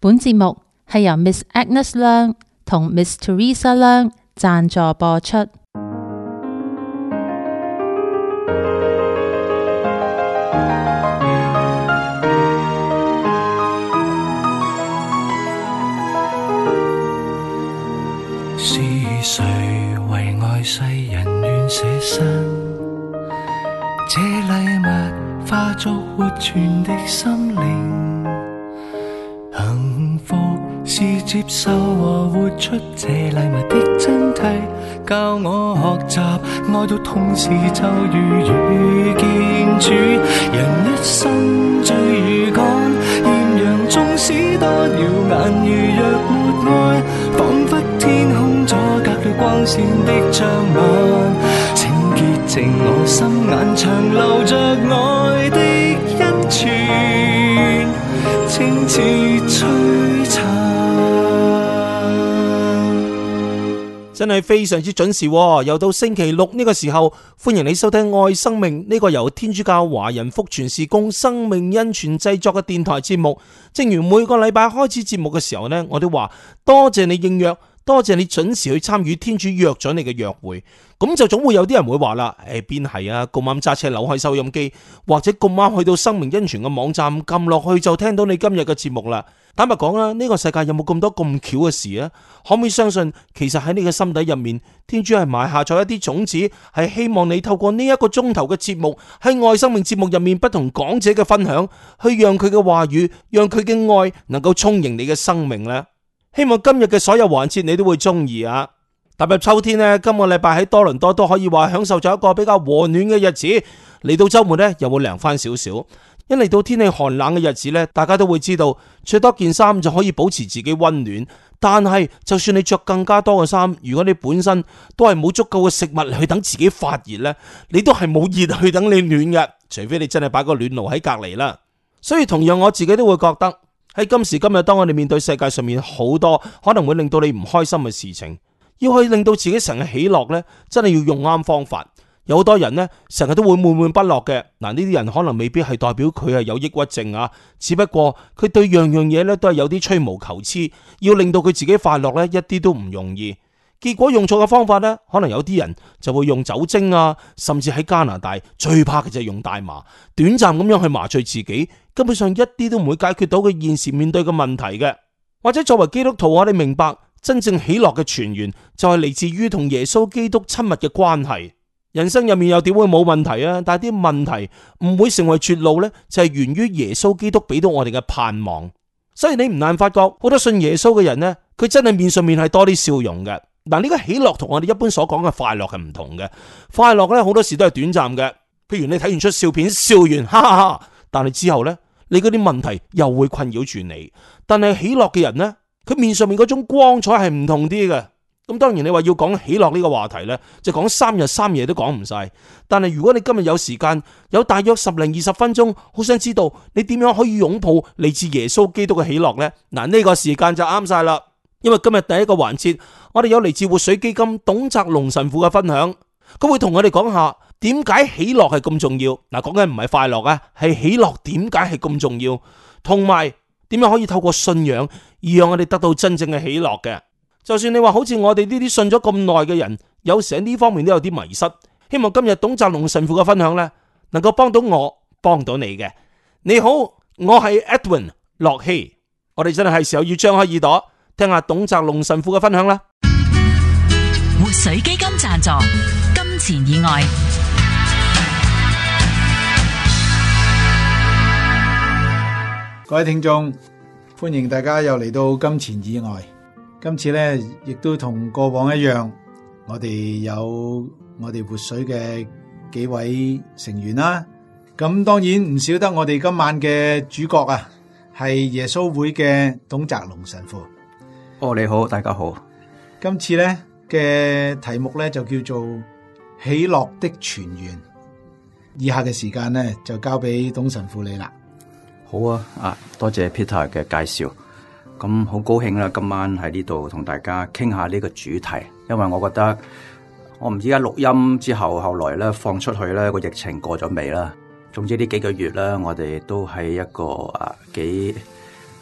本節目係由 Miss Agnes 梁同 Miss Teresa 梁贊助播出。 是誰為愛世人願捨身？這禮物化作活存的心靈，幸福是接受和活出這禮物的真諦，教我學習愛到痛時就如遇見主。人一生最如趕，豔陽縱使多耀眼，如若沒愛，彷彿天空阻隔了光線的障礙。請潔淨我心眼，長留着愛的恩泉，清似璀璨。 真係非常之準時，又到星期六呢個時候，歡迎你收聽愛生命呢個由天主教華人福傳事工生命恩泉製作嘅電台節目。正如每個禮拜開始節目嘅時候呢，我都話多謝你應約，多謝你準時去參與天主約咗你嘅約會。咁就總會有啲人會話啦，邊係啊？咁啱揸車扭開收音機，或者咁啱去到生命恩泉嘅網站撳落去就聽到你今日嘅節目啦。坦白講啊，呢個世界有冇咁多咁巧嘅事啊？可唔可以相信，其實喺你嘅心底入面，天主係埋下咗一啲種子，係希望你透過呢一個鐘頭嘅節目，喺愛生命節目入面不同講者嘅分享，去讓佢嘅話語，讓佢嘅愛能夠充盈你嘅生命呢？希望今日嘅所有環節你都會中意啊！踏入秋天呢，今個禮拜喺多倫多都可以話享受咗一個比較和暖嘅日子。嚟到周末呢，又會涼翻少少。一嚟到天氣寒冷嘅日子呢，大家都會知道着多件衫就可以保持自己溫暖。但係就算你着更加多嘅衫，如果你本身都係冇足夠嘅食物去等自己發熱呢，你都係冇熱去等你暖嘅，除非你真係擺個暖爐喺隔籬啦。所以同樣我自己都會覺得喺今時今日，當我哋面對世界上面好多可能會令到你唔開心嘅事情，要去令到自己成日喜樂呢，真係要用啱方法。有好多人呢，成日都會悶悶不樂嘅。嗱，呢啲人可能未必係代表佢係有抑鬱症啊，只不過佢對樣樣嘢呢都係有啲吹毛求疵，要令到佢自己快樂呢，一啲都唔容易。結果用錯嘅方法呢，可能有啲人就會用酒精啊，甚至喺加拿大最怕嘅就係用大麻，短暫咁樣去麻醉自己，根本上一啲都唔會解決到佢現時面對嘅問題嘅。或者作為基督徒，我哋明白真正喜樂嘅泉源就係嚟自於同耶穌基督親密嘅關係。人生入面又點會冇問題啊？但係啲問題唔會成為絕路呢，就係源於耶穌基督俾到我哋嘅盼望。所以你唔難發覺，好多信耶穌嘅人呢，佢真係面上面係多啲笑容嘅。嗱，呢個喜樂同我哋一般所講嘅快樂係唔同嘅。快樂呢，好多時都係短暫嘅，譬如你睇完出笑片，笑完哈哈哈，但係之後呢，你嗰啲問題又會困擾住你。但係喜樂嘅人呢，佢面上面嗰種光彩係唔同啲嘅。咁當然你話要講喜樂呢個話題呢，就講3日3夜都講唔晒。但係如果你今日有時間，有大約10零20分鐘，好想知道你點樣可以擁抱嚟自耶穌基督嘅喜樂呢？嗱，呢個時間就啱晒啦。因為今日第一個環節，我哋有嚟自活水基金董澤龍神父嘅分享，佢會同我哋講下點解喜樂係咁重要。嗱，講緊唔係快樂啊，係喜樂點解係咁重要，同埋點樣可以透過信仰而讓我哋得到真正嘅喜樂嘅。就算你話好似我哋呢啲信咗咁耐嘅人，有時喺呢方面都有啲迷失。希望今日董澤龍神父嘅分享呢，能夠幫到我，幫到你嘅。你好，我係 Edwin 駱曦，我哋真係時候要張開耳朵聽下董澤龍神父嘅分享啦。 活水基金贊助，金錢以外。 各位聽眾，歡迎大家又嚟到金錢以外。今次呢，亦都同過往一樣，我哋有我哋活水嘅幾位成員啦。咁當然唔少得我哋今晚嘅主角啊，係耶穌會嘅董澤龍神父。 你好，大家好。 今次呢嘅題目呢，就叫做喜樂的泉源。以下嘅時間呢，就交俾董神父你啦。 好啊，多謝 Peter 嘅介紹。咁好高興啦，今晚喺呢度同大家傾下呢個主題，因為我覺得我唔知而家錄音之後，後來咧放出去咧個疫情過咗未啦。總之呢幾個月咧，我哋都係一個幾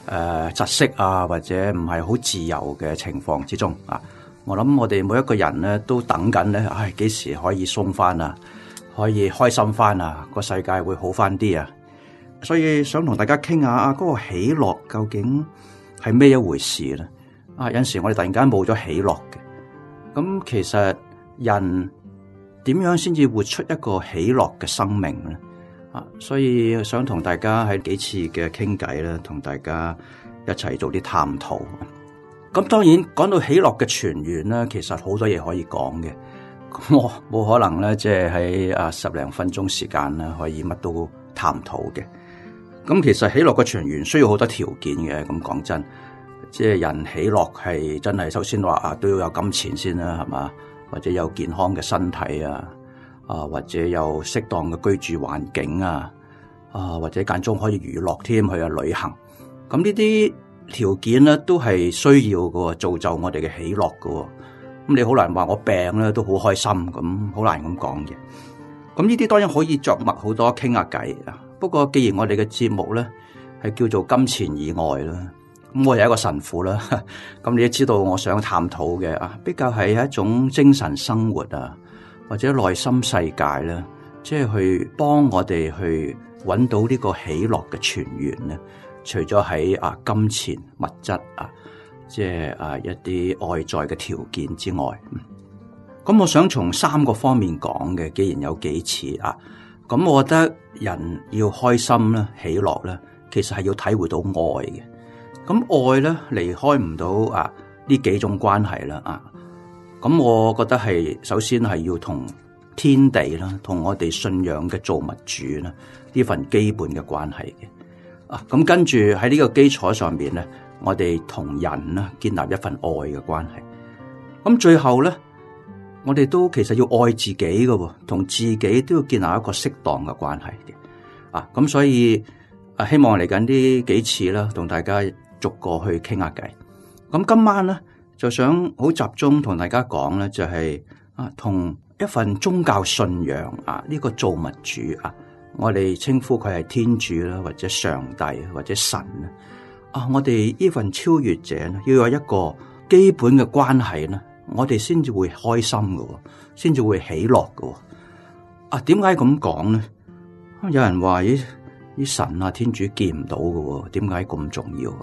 窒息啊，或者唔係好自由嘅情況之中啊。我諗我哋每一個人咧都等緊咧，幾時可以鬆翻啊，可以開心翻啊，個世界會好翻啲啊。所以想同大家傾下嗰個喜樂究竟係咩一回事咧？有陣時我哋突然間冇咗喜樂嘅，咁其實人點樣先至活出一個喜樂嘅生命咧？所以想同大家喺幾次嘅傾偈咧，同大家一齊做啲探討。咁當然講到喜樂嘅泉源咧，其實好多嘢可以講嘅。我冇可能咧，即係喺10零分鐘時間咧，可以乜都探討嘅。咁其實喜樂嘅泉源需要好多條件嘅。咁講真，即係人喜樂係真係首先話都要有金錢先啦，係嘛？或者有健康嘅身體啊，或者有適當嘅居住環境啊，或者間中可以娛樂添，去旅行。咁呢啲條件咧都係需要嘅，造就我哋嘅喜樂嘅。咁你好難話我病咧都好開心，咁好難咁講嘅。咁呢啲當然可以着墨好多傾下偈啊。不過既然我哋嘅節目咧係叫做金錢以外啦，咁我係一個神父啦，咁你都知道我想探討嘅比較係一種精神生活啊，或者內心世界啦，即係去幫我哋去揾到呢個喜樂嘅泉源咧。除咗喺金錢物質即係一啲外在嘅條件之外，咁我想從3個方面講嘅。既然有幾次咁我覺得人要開心咧、喜樂咧，其實係要體會到愛嘅。咁愛咧離開唔到呢幾種關係啦咁我覺得係首先係要同天地啦，同我哋信仰嘅造物主啦，呢份基本嘅關係嘅。咁跟住喺呢個基礎上面咧，我哋同人啦建立一份愛嘅關係。咁最後咧，我哋都其實要愛自己嘅，同自己都要建立一個適當嘅關係嘅。咁所以希望嚟緊呢幾次啦，同大家逐個去傾下偈。咁今晚咧就想好集中同大家講咧，就係同一份宗教信仰呢個造物主我哋稱呼佢係天主啦，或者上帝，或者神我哋呢份超越者咧，要有一個基本嘅關係咧，我哋先至會開心嘅，先至會喜樂嘅。點解咁講咧？有人話啲神天主見唔到嘅，點解咁重要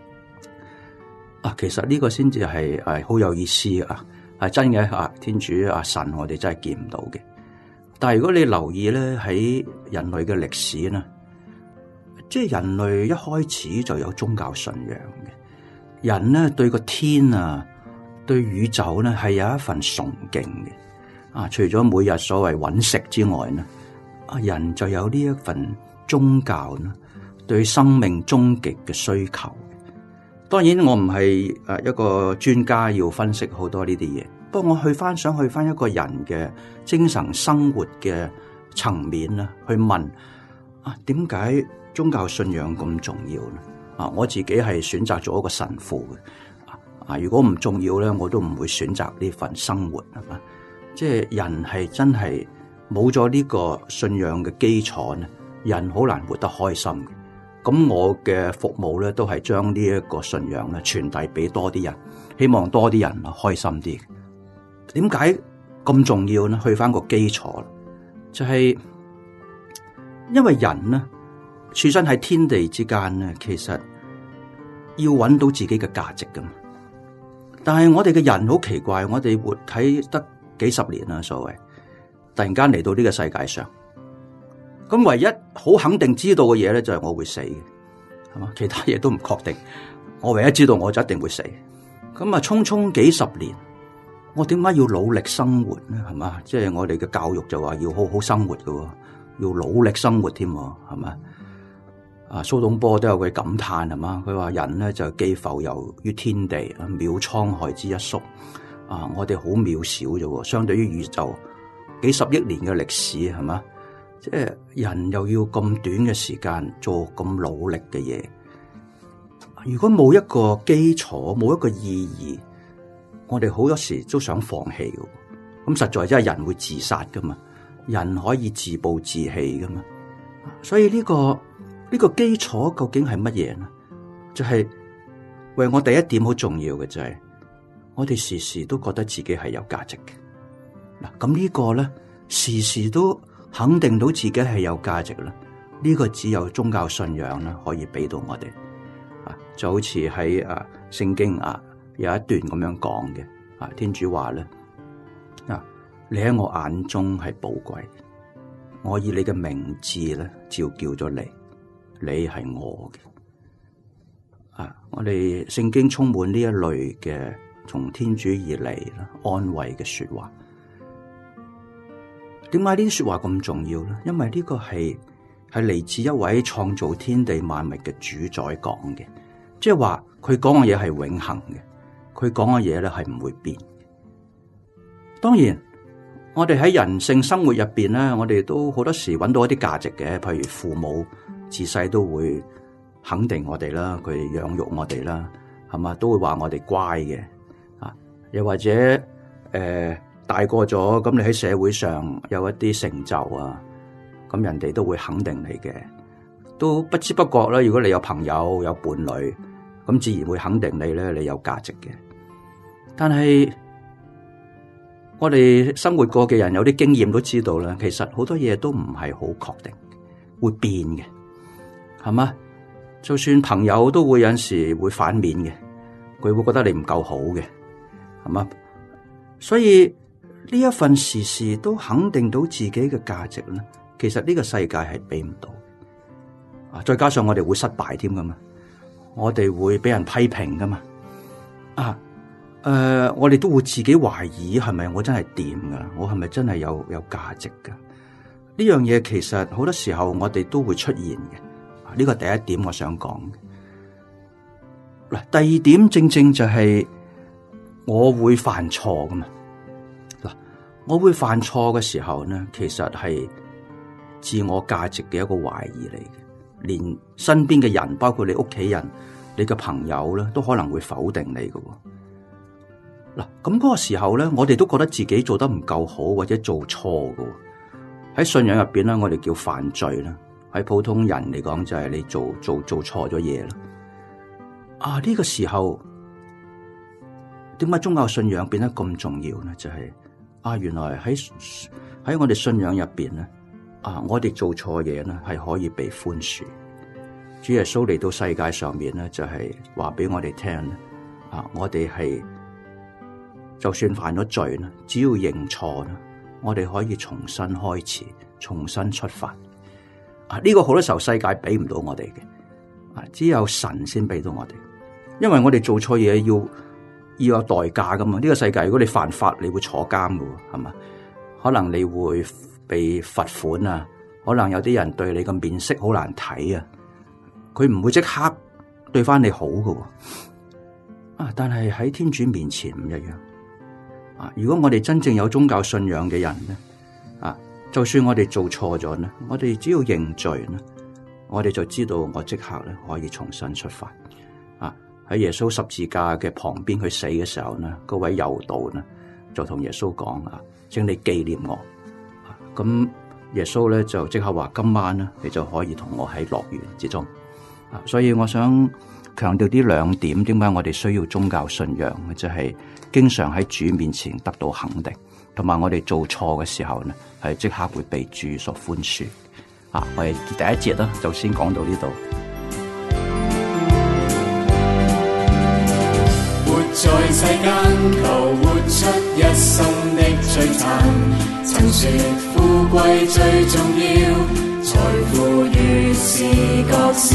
其實呢個先至係好有意思係真嘅天主神，我哋真係見唔到嘅。但係如果你留意咧，喺人類嘅歷史咧，即係人類一開始就有宗教信仰嘅。人咧對個天對宇宙咧係有一份崇敬嘅。除咗每日所謂揾食之外咧，人就有呢一份宗教咧對生命終極嘅需求。當然我唔係一個專家，要分析好多呢啲嘢。不過我想去翻一個人嘅精神生活嘅層面啦，去問點解宗教信仰咁重要咧？我自己係選擇做一個神父嘅。如果唔重要咧，我都唔會選擇呢份生活，係嘛？即係人係真係冇咗呢個信仰嘅基礎咧，人好難活得開心嘅。咁我嘅服務咧都係將呢一個信仰咧傳遞俾多啲人，希望多啲人開心啲。點解咁重要呢？去翻個基礎，就係因為人呢，處身喺天地之間呢，其實要揾到自己嘅價值噶嘛。但係我哋嘅人好奇怪，我哋活睇得幾十年啦，所謂突然間嚟到呢個世界上，咁唯一好肯定知道嘅嘢咧，就係我會死嘅，係嘛？其他嘢都唔確定。我唯一知道我就一定會死。咁匆匆幾十年。我點解要努力生活咧？係嘛，即係我哋嘅教育就話要好好生活嘅，要努力生活添，係嘛？蘇東坡都有句感嘆，係嘛？佢話人咧就既浮游於天地，渺滄海之一粟。我哋好渺小啫，相對於宇宙幾十億年嘅歷史，係嘛？即係人又要咁短嘅時間做咁努力嘅嘢，如果冇一個基礎，冇一個意義。我哋好多時都想放棄嘅，咁實在真係人會自殺噶嘛，人可以自暴自棄噶嘛，所以呢個基礎究竟係乜嘢呢？ 就係為我第一點好重要嘅就係，我哋時時都覺得自己係有價值嘅。嗱，咁呢個咧，時時都肯定到自己係有價值啦。呢個只有宗教信仰啦可以俾到我哋。就好似喺聖經有一段咁樣講嘅，天主話咧，你喺我眼中係寶貴，我以你嘅名字咧召叫咗你，你係我嘅。我哋聖經充滿呢一類嘅從天主而嚟安慰嘅說話。點解呢啲說話咁重要咧？因為呢個係嚟自一位創造天地萬物嘅主宰講嘅。即係話佢講嘅嘢係永恆嘅，佢講嘅嘢咧係唔會變。當然，我哋喺人性生活入邊咧，我哋都好多時揾到一啲價值嘅，譬如父母自細都會肯定我哋啦，佢養育我哋啦，係嘛，都會話我哋乖嘅。又或者大個咗，咁你喺社會上有一啲成就啊，咁人哋都會肯定你嘅。都不知不覺啦，如果你有朋友有伴侶，咁自然會肯定你咧，你有價值嘅。但係我哋生活過嘅人有啲經驗都知道啦，其實好多嘢都唔係好確定，會變嘅，係嘛？就算朋友都會有陣時會反面嘅，佢會覺得你唔夠好嘅，係嘛？所以呢一份時時都肯定到自己嘅價值咧，其實呢個世界係俾唔到。再加上我哋會失敗添噶嘛，我哋會俾人批評噶嘛，我哋都會自己懷疑係咪我真係掂噶，我係咪真係有價值噶？呢樣嘢其實好多時候我哋都會出現嘅。呢個第一點我想講。嗱，第二點正正就係我會犯錯噶嘛。嗱，我會犯錯嘅時候呢，其實係自我價值嘅一個懷疑嚟嘅。連身邊嘅人，包括你屋企人、你嘅朋友咧，都可能會否定你嘅。嗱，咁嗰個時候咧，我哋都覺得自己做得唔夠好，或者做錯嘅。喺信仰入邊咧，我哋叫犯罪啦。喺普通人嚟講，就係你做錯咗嘢啦。呢個時候，點解宗教信仰變得咁重要咧？就係原來喺我哋信仰入邊咧。我哋做錯嘢咧，係可以被寬恕。主耶穌嚟到世界上面咧，就係話俾我哋聽咧，我哋係就算犯咗罪咧，只要認錯咧，我哋可以重新開始，重新出發。呢個好多時候世界俾唔到我哋嘅，只有神先俾到我哋。因為我哋做錯嘢要有代價噶嘛。呢個世界如果你犯法，你會坐監噶，係嘛？可能你會被罰款啊，可能有啲人對你嘅面色好難睇啊，佢唔會即刻對翻你好㗎喎。但係喺天主面前唔一樣。如果我哋真正有宗教信仰嘅人咧，就算我哋做錯咗咧，我哋只要認罪咧，我哋就知道我即刻咧可以重新出發。喺耶穌十字架嘅旁邊佢死嘅時候咧，嗰位猶道咧就同耶穌講請你紀念我。咁耶穌咧就即刻話今晚咧你就可以同我喺樂園之中。所以我想強調呢兩點，點解我哋需要宗教信仰，就係經常喺主面前得到肯定，同埋我哋做錯嘅時候咧係即刻會被主所寬恕。我哋第一節啦就先講到呢度。 活在世間，求活出一生的璀璨。曾說富貴最重要，財富越是覺少。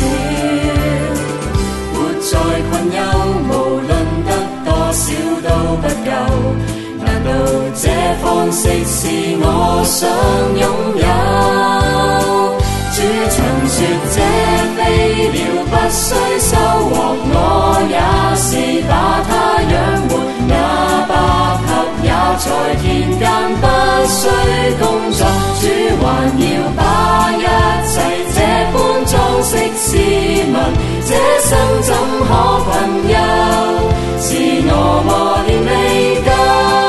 活在困憂，無論得多少都不夠。難道這方式是我想擁有？主曾說這飛鳥不需收穫，我也是把它養活。那百合也在田間不需工作，主還要把一切這般裝飾試問，這生怎可困憂？是我磨練未夠。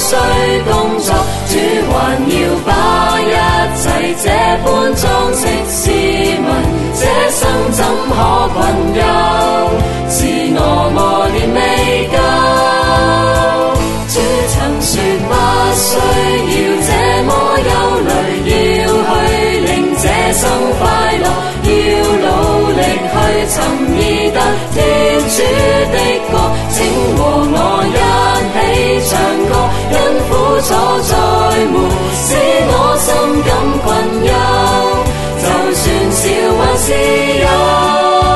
需工作，主還要把一切這般裝飾試問，這生怎可困憂？是我磨練未夠。主曾說不需要這麼憂慮，要去令這生快樂，要努力去尋覓得天主的國，請和我一起唱歌，因苦楚再沒使我心感困憂，就算少還是有。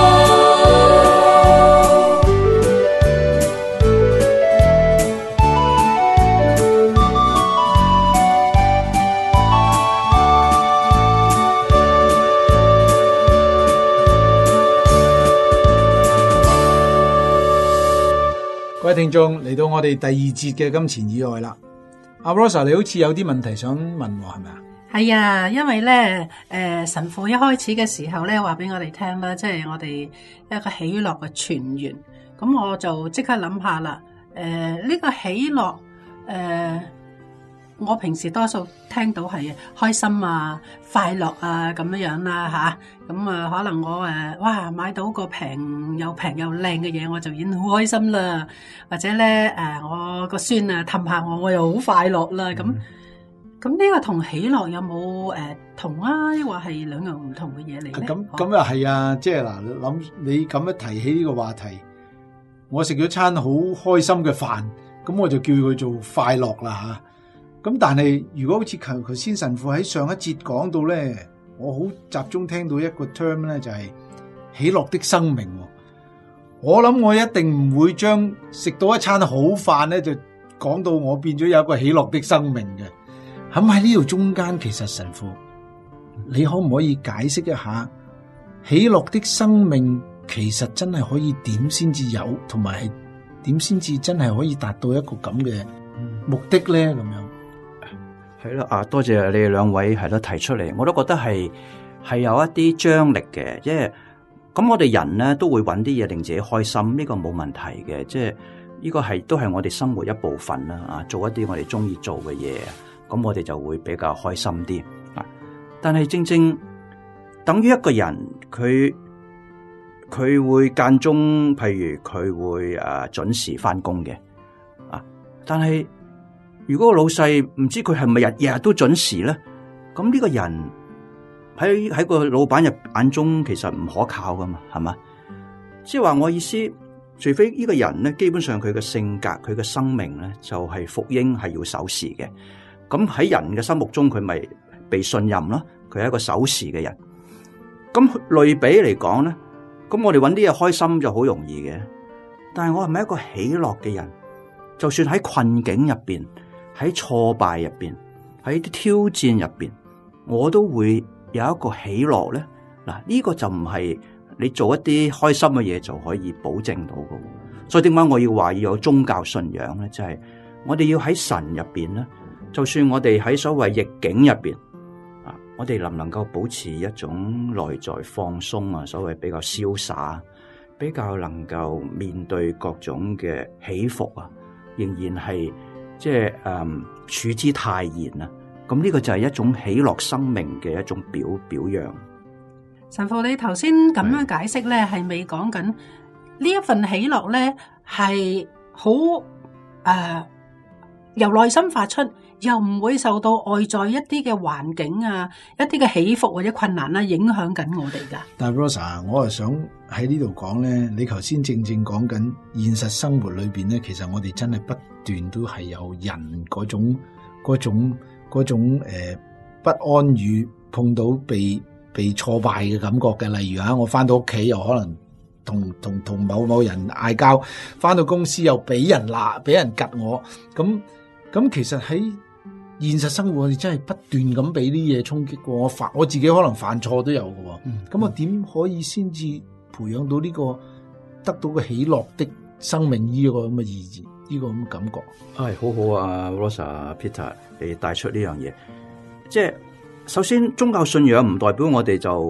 各位聽眾，嚟到我哋第二節嘅金錢以外啦。阿 Rosa， 你好似有啲問題想問我，係咪啊？ 係啊，因為咧，神父一開始嘅時候咧，話俾我哋聽啦，即係我哋一個喜樂嘅泉源。咁我就即刻諗下啦，呢個喜樂，我平時多數聽到係開心啊、快樂啊咁樣樣啦吓，咁可能我哇買到個平又靚嘅嘢，我就已經好開心啦。或者咧我個孫啊氹下我又好快樂啦。咁呢個同喜樂有冇同啊？抑或係兩樣唔同嘅嘢嚟咧？ 咁又係啊！即係嗱，諗你咁樣提起呢個話題，我食咗餐好開心嘅飯，咁我就叫佢做快樂啦吓。咁但係如果好似頭先神父喺上一節講到咧，我好集中聽到一個 term 咧，就係喜樂的生命。我諗我一定唔會將食到一餐好飯咧，就講到我變咗有一個喜樂的生命嘅。咁喺呢度中間，其實神父，你可唔可以解釋一下喜樂的生命其實真係可以點先至有，同埋係點先至真係可以達到一個咁嘅目的咧？咁樣。 係啦，多謝你哋兩位係咯提出嚟，我都覺得係有一啲張力嘅，即係咁我哋人咧都會揾啲嘢令自己開心，呢個冇問題嘅，即係呢個都係我哋生活一部分啦，啊，做一啲我哋中意做嘅嘢，咁我哋就會比較開心啲啊。但係正正等於一個人佢會間中，譬如佢會準時翻工嘅啊，但係如果個老細唔知佢係咪日日都準時咧，咁呢個人喺個老闆眼中其實唔可靠噶嘛，係嘛？即係話我意思，除非呢個人咧，基本上佢嘅性格、佢嘅生命咧，就係服膺係要守時嘅。咁喺人嘅心目中，佢咪被信任啦？佢係一個守時嘅人。咁類比嚟講咧，咁我哋搵啲嘢開心就好容易嘅。但係我係咪一個喜樂嘅人？就算喺困境入邊，喺挫敗入邊，喺啲挑戰入邊，我都會有一個喜樂咧。嗱，呢個就唔係你做一啲開心嘅嘢就可以保證到嘅。所以點解我要話要有宗教信仰咧？就係我哋要喺神入邊咧，就算我哋喺所謂逆境入邊啊，我哋能唔能夠保持一種內在放鬆啊？所謂比較瀟灑，比較能夠面對各種嘅起伏啊，仍然係。即係處之泰然啊！咁呢個就係一種喜樂生命嘅一種表揚。 神父，你頭先咁樣解釋咧，係未講緊呢一份喜樂咧，係好由內心發出，又唔會受到外在一啲嘅環境啊、一啲嘅起伏或者困難啦影響緊我哋噶。 但係 Rosa， 我係想喺呢度講咧，你頭先正講緊現實生活裏邊咧，其實我哋真係不斷都係有人嗰種不安與碰到被挫敗嘅感覺嘅。例如我翻到屋企又可能同某人嗌交，翻到公司又俾人鬧，俾人吉我。咁其實喺現實生活我哋真係不斷咁俾啲嘢衝擊過我自己可能犯錯都有嘅。咁我點可以先至培養到呢個得到個喜樂的生命呢個咁嘅意義？呢個咁嘅感覺係好好啊 ，Rosa Peter，你帶出呢樣嘢，即係首先宗教信仰唔代表我哋就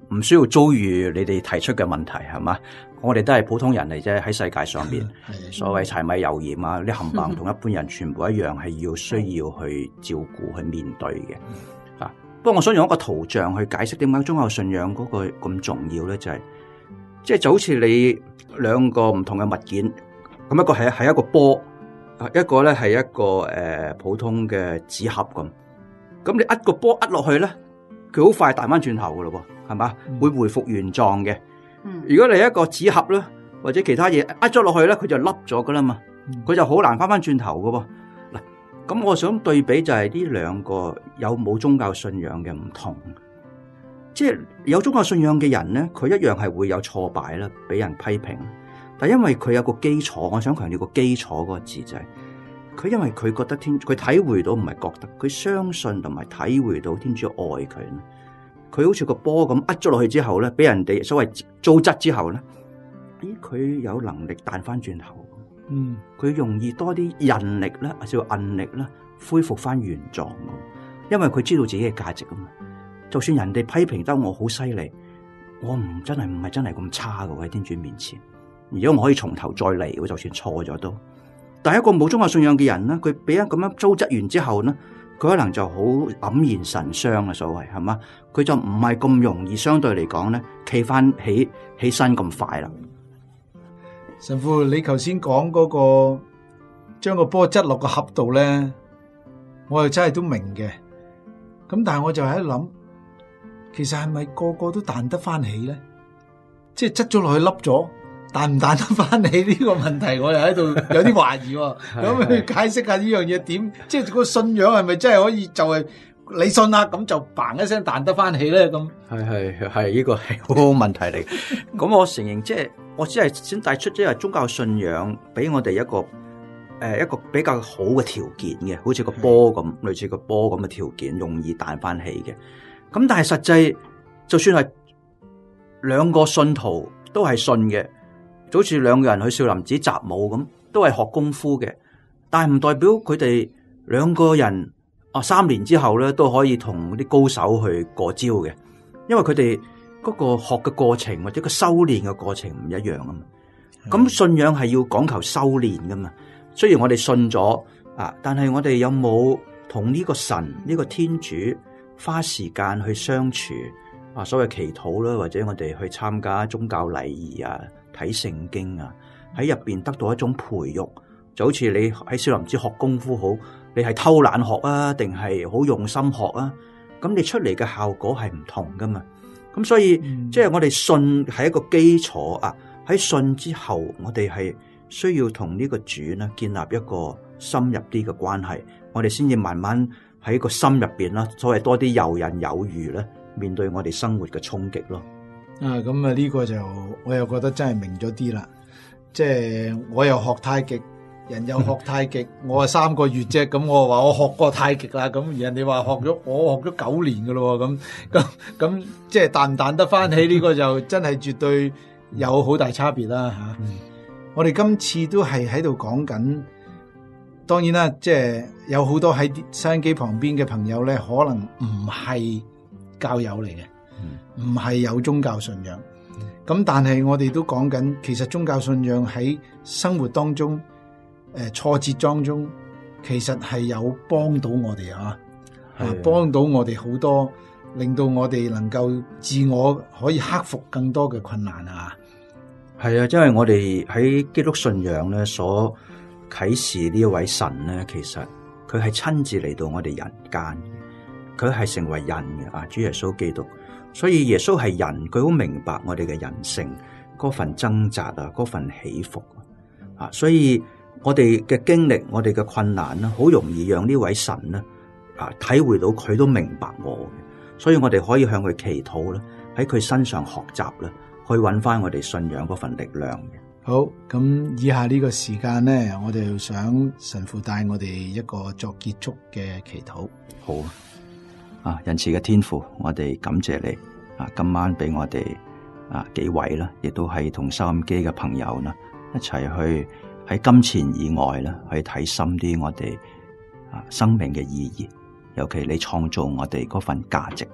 唔需要遭遇你哋提出嘅問題，係嘛？我哋都係普通人嚟啫，喺世界上邊，所謂柴米油鹽啊，啲冚唪唥同一般人全部一樣，係要需要去照顧、去面對嘅。不過我想用一個圖像去解釋點解宗教信仰嗰個咁重要咧，就好似你兩個唔同嘅物件，咁一個係一個波，一個咧係一個普通嘅紙盒咁。咁你個波落去咧，佢好快彈翻轉頭噶咯喎，係嘛？會回復原狀嘅。如果你一個紙盒咧，或者其他嘢咗落去咧，佢就凹咗噶啦嘛，佢就好難翻轉頭噶喎。嗱，咁我想對比就係呢兩個有冇宗教信仰嘅唔同。即係有宗教信仰嘅人咧，佢一樣係會有挫敗啦，俾人批評。但因為佢有個基礎，我想強調個基礎嗰個字就係，佢因為佢覺得佢體會到，唔係覺得，佢相信同埋體會到天主愛佢。佢好似個波咁咗落去之後咧，俾人哋所謂糟質之後咧，佢有能力彈翻轉頭。佢容易多啲韌力啦，叫韌力啦，恢復翻原狀。因為佢知道自己嘅價值啊嘛。就算人哋批評得我好犀利，我唔係真係咁差嘅喺天主面前。如果我可以從頭再嚟，我就算錯咗都。但係一個冇宗教信仰嘅人咧，佢俾人咁樣糟質完之後咧，佢可能就好黯然神傷啊，所謂係嘛？佢就唔係咁容易，相對嚟講咧，企翻起身咁快啦。 神父，你頭先講嗰個將個波執落個盒度咧，我又真係都明嘅。咁但係我就喺度諗，其實係咪個個都彈得翻起咧？即係執咗落去凹咗，彈唔彈得翻起呢個問題，我又喺度有啲懷疑。咁你解釋下呢樣嘢點？即係個信仰係咪真係可以就係你信啦，咁就嘭一聲彈得翻起咧？咁係呢個係好好問題嚟。咁我承認，即係我只係先帶出即係宗教信仰俾我哋一個比較好嘅條件嘅，好似個波咁，類似個波咁嘅條件，容易彈翻起嘅。咁但係實際，就算係兩個信徒都係信嘅，就好似兩個人去少林寺習武咁，都係學功夫嘅。但係唔代表佢哋兩個人3年之後咧都可以同啲高手去過招嘅，因為佢哋嗰個學嘅過程或者個修煉嘅過程唔一樣啊嘛。咁信仰係要講求修煉噶嘛。雖然我哋信咗但係我哋有冇同呢個神呢個天主花時間去相處所謂祈禱啦，或者我哋去參加宗教禮儀睇聖經喺入邊得到一種培育，就好似你喺少林寺學功夫好，你係偷懶學定係好用心學咁你出嚟嘅效果係唔同噶嘛。咁所以即係我哋信係一個基礎喺信之後，我哋係需要同呢個主呢建立一個深入啲嘅關係，我哋先至慢慢喺個心入邊啦，所謂多啲游刃有餘咧，面對我哋生活嘅衝擊咯。 咁呢個就我又覺得真係明咗啲啦。即係我又學太極，人又學太極，我3個月啫，咁我話我學過太極啦，咁人哋話我學咗9年噶咯，咁即係彈唔彈得翻起呢個就真係絕對有好大差別啦吓。我哋今次都係喺度講緊，當然啦，即係有好多喺收音機旁邊嘅朋友咧，可能唔係教友嚟嘅，唔係有宗教信仰。咁但係我哋都講緊，其實宗教信仰喺生活當中，挫折當中，其實係有幫到我哋幫到我哋好多，令到我哋能夠自我可以克服更多嘅困難係因為我哋喺基督信仰咧所啟示呢一位神咧，其實佢係親自嚟到我哋人間，佢係成為人嘅主耶穌基督。所以耶穌係人，佢好明白我哋嘅人性嗰份掙扎嗰份起伏所以我哋嘅經歷，我哋嘅困難咧，好容易讓呢位神咧體會到佢都明白我嘅，所以我哋可以向佢祈禱啦，喺佢身上學習啦，去揾翻我哋信仰嗰份力量嘅。 好，咁以下呢個時間咧，我哋想神父帶我哋一個作結束嘅祈禱。 好仁慈嘅天父，我哋感謝你今晚俾我哋幾位啦，亦都係同收音機嘅朋友啦，一齊去喺金錢以外啦，去睇深啲我哋生命嘅意義，尤其你創造我哋嗰份價值，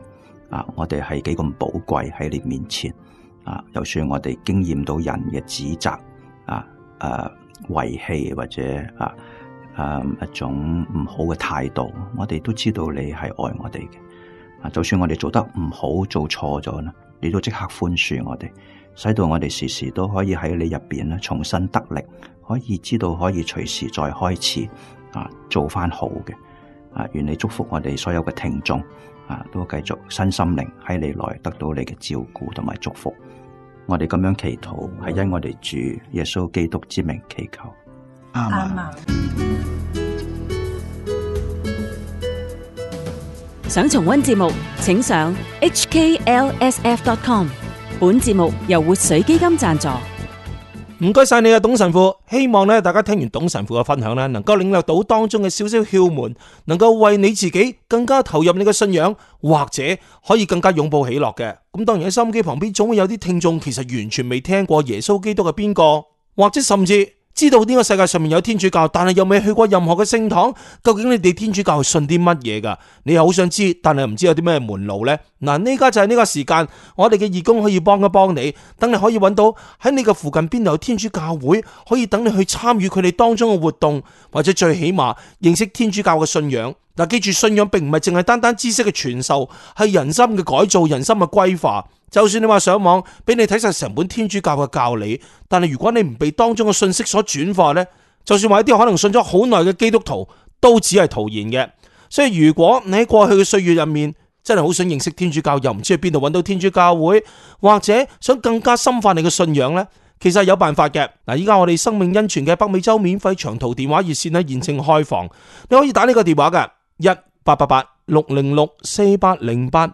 我哋係幾咁寶貴喺你面前啊！就算我哋經驗到人嘅指責遺棄或者一種唔好嘅態度，我哋都知道你係愛我哋嘅。就算我哋做得唔好，做錯咗啦，你都即刻寬恕我哋，使到我哋時時都可以喺你入邊咧重新得力，可以知道可以隨時再開始做翻好嘅。願你祝福我哋所有嘅聽眾都繼續身心靈喺你內得到你嘅照顧同埋祝福。我哋咁樣祈禱係因我哋主耶穌基督之名祈求。 阿們。 想重溫節目，請上 hklsf.com。 本節目由活水基金贊助。 唔該晒你啊，董神父。希望咧大家聽完董神父嘅分享咧，能夠領略到當中嘅少少竅門，能夠為你自己更加投入你嘅信仰，或者可以更加擁抱喜樂嘅。咁當然喺收音機旁邊總會有啲聽眾其實完全未聽過耶穌基督係邊個，或者甚至知道呢個世界上面有天主教，但係又未去過任何嘅聖堂。究竟你哋天主教係信啲乜嘢噶？你又好想知，但係又唔知有啲咩門路呢？嗱，呢家就係呢個時間，我哋嘅義工可以幫一幫你，等你可以揾到喺你嘅附近邊度有天主教會，可以等你去參與佢哋當中嘅活動，或者最起碼認識天主教嘅信仰。嗱，記住，信仰並唔係淨係單單知識嘅傳授，係人心嘅改造，人心嘅歸化。就算你話上網俾你睇晒成本天主教嘅教理，但係如果你唔被當中嘅信息所轉化呢，就算話一啲可能信咗好耐嘅基督徒，都只係徒然嘅。所以如果你喺過去嘅歲月入面真係好想認識天主教，又唔知去邊度揾到天主教會，或者想更加深化你嘅信仰呢，其實係有辦法嘅。嗱，依家我哋生命恩泉嘅北美洲免費長途電話熱線咧現正開放，你可以打呢個電話嘅1888-606-4808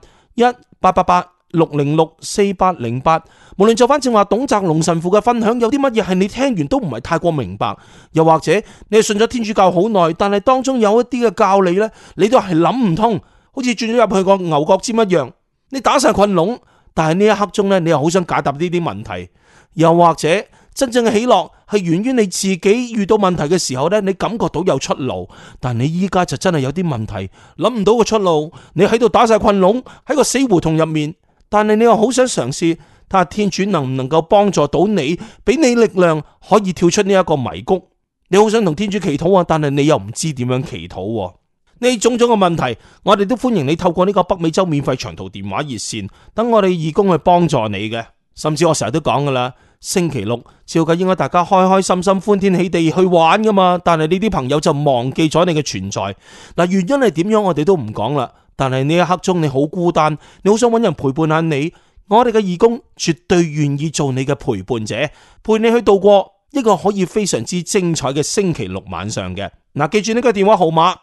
1888-606-4808。無論就翻正話董澤龍神父嘅分享，有啲乜嘢係你聽完都唔係太過明白，又或者你係信咗天主教好耐，但係當中有一啲嘅教理呢，你都係諗唔通，好似轉咗入去個牛角尖一樣，你打晒困籠。但係呢一刻中呢，你又好想解答呢啲問題，又或者真正嘅喜樂係源於你自己遇到問題嘅時候呢，你感覺到有出路，但你依家就真係有啲問題諗唔到個出路，你喺度打晒困籠，喺個死胡同入面，但係你又好想嘗試睇下天主能唔能夠幫助到你，俾你力量可以跳出呢一個迷谷。你好想同天主祈禱啊，但係你又唔知點樣祈禱。呢種種嘅問題，我哋都歡迎你透過呢個北美洲免費長途電話熱線，等我哋義工去幫助你嘅。甚至我成日都講噶啦，星期六照計應該大家開開心心歡天喜地去玩噶嘛，但係呢啲朋友就忘記咗你嘅存在。嗱，原因係點樣我哋都唔講啦，但係呢一刻中你好孤單，你好想揾人陪伴下你，我哋嘅義工絕對願意做你嘅陪伴者，陪你去度過一個可以非常之精彩嘅星期六晚上嘅。嗱，記住呢個電話號碼